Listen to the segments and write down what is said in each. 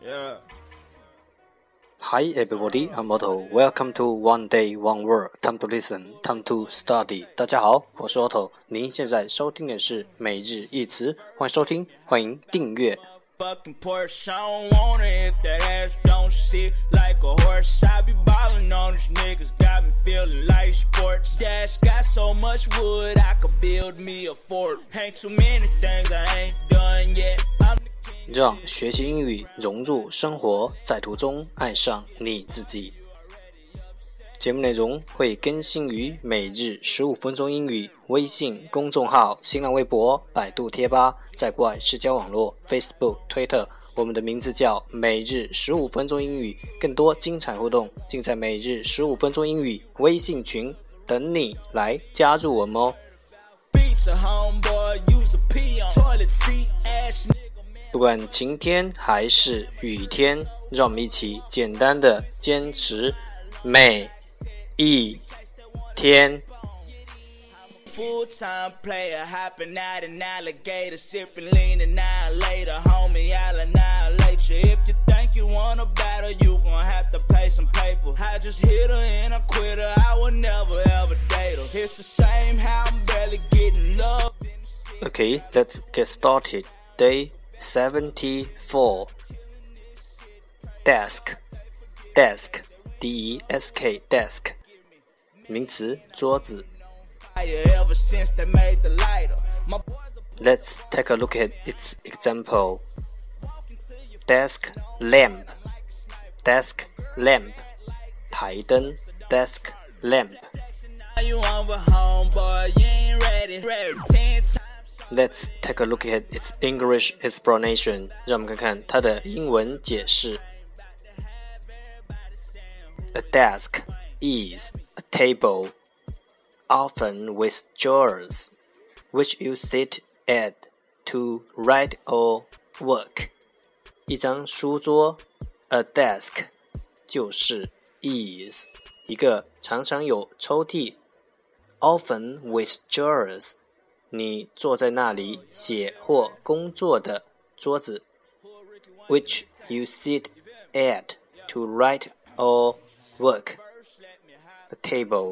Hi everybody, I'm Otto. Welcome to One Day, One Word. Time to listen, time to study. 大家好，我是 Otto。您现在收听的是每日一词，欢迎收听，欢迎订阅。 Fucking Porsche, I don't want it if that ass don't sit like a horse. I be ballin' on these niggas, got me feeling like sports. Dash got so much wood, I could build me a fort. Ain't too many things I ain't done yet. 让学习英语融入生活，在途中爱上你自己。节目内容会更新于每日15分钟英语微信公众号、新浪微博、百度贴吧，在国外社交网络 Facebook、Twitter， 我们的名字叫每日15分钟英语，更多精彩互动尽在每日15分钟英语微信群，等你来加入我们哦。不管晴天还是雨天，让我们一起简单的坚持每一天。 Full-time player, hopping out an alligator, sipping lean annihilator, homie, I'll annihilate you. If you think you want a battle, you gon' have to pay some paper. I just hit her and I quit her, I will never ever date her. It's the same how I'm barely getting love. Okay, let's get started. Day 74. Desk, desk, D-E-S-K, desk. 名词，桌子。Let's take a look at its example. Desk lamp, desk lamp. 台灯 desk lamp. Let's take a look at its English explanation. 让我们看看它的英文解释。A desk is a table, often with drawers, which you sit at to write or work. 一张书桌 A desk 就是 is 一个常常有抽屉 often with drawers 你坐在那里写或工作的桌子 which you sit at to write or work. A table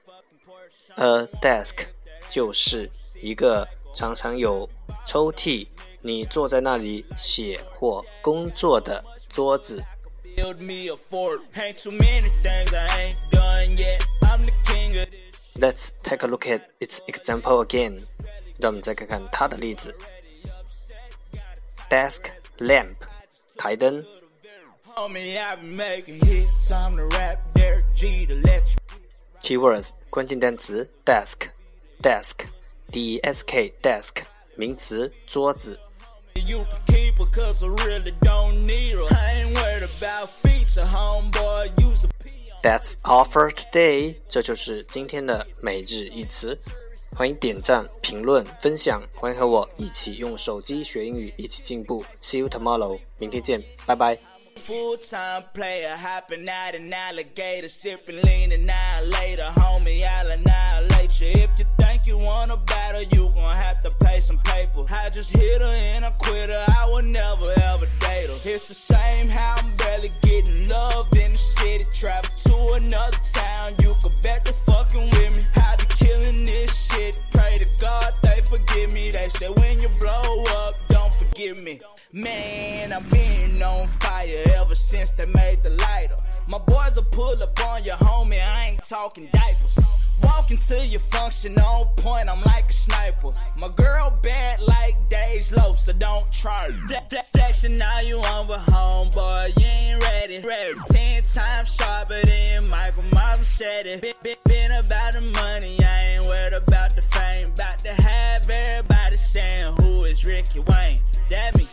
A desk 就是一个常常有抽屉你坐在那里写或工作的桌子。Let's take a look at its example again. 让我们再看看它的例子。Desk lamp 台灯。Keywords 关键单词 desk, desk, D-E-S-K, desk 名词桌子。That's all for today. 这就是今天的每日一词。欢迎点赞、评论、分享，欢迎和我一起用手机学英语，一起进步。See you tomorrow. 明天见，拜拜。 Full-time player, hopping out an alligator, sipping lean annihilator, homie, I'll annihilate you. If you think you want a battle, you gon' have to pay some paper. I just hit her and I quit her, I will never ever date her. It's the same how I'm barely getting love in the city, travel to another town, you can bet they're fucking with me. I be killing this shit, pray to God they forgive me. They say when you blow up, don't forgive me. Man, I've been on fire ever since they made the lighter. My boys will pull up on your homie, I ain't talking diapers. Walking to your function on point, I'm like a sniper. My girl bad like Dej Low, so don't try. Flexing now you on with homeboy, you ain't ready. 10 times sharper than Michael Myers said it. Been about the money, I ain't worried about the fame. About to have everybody saying who is Ricky Wayne. That means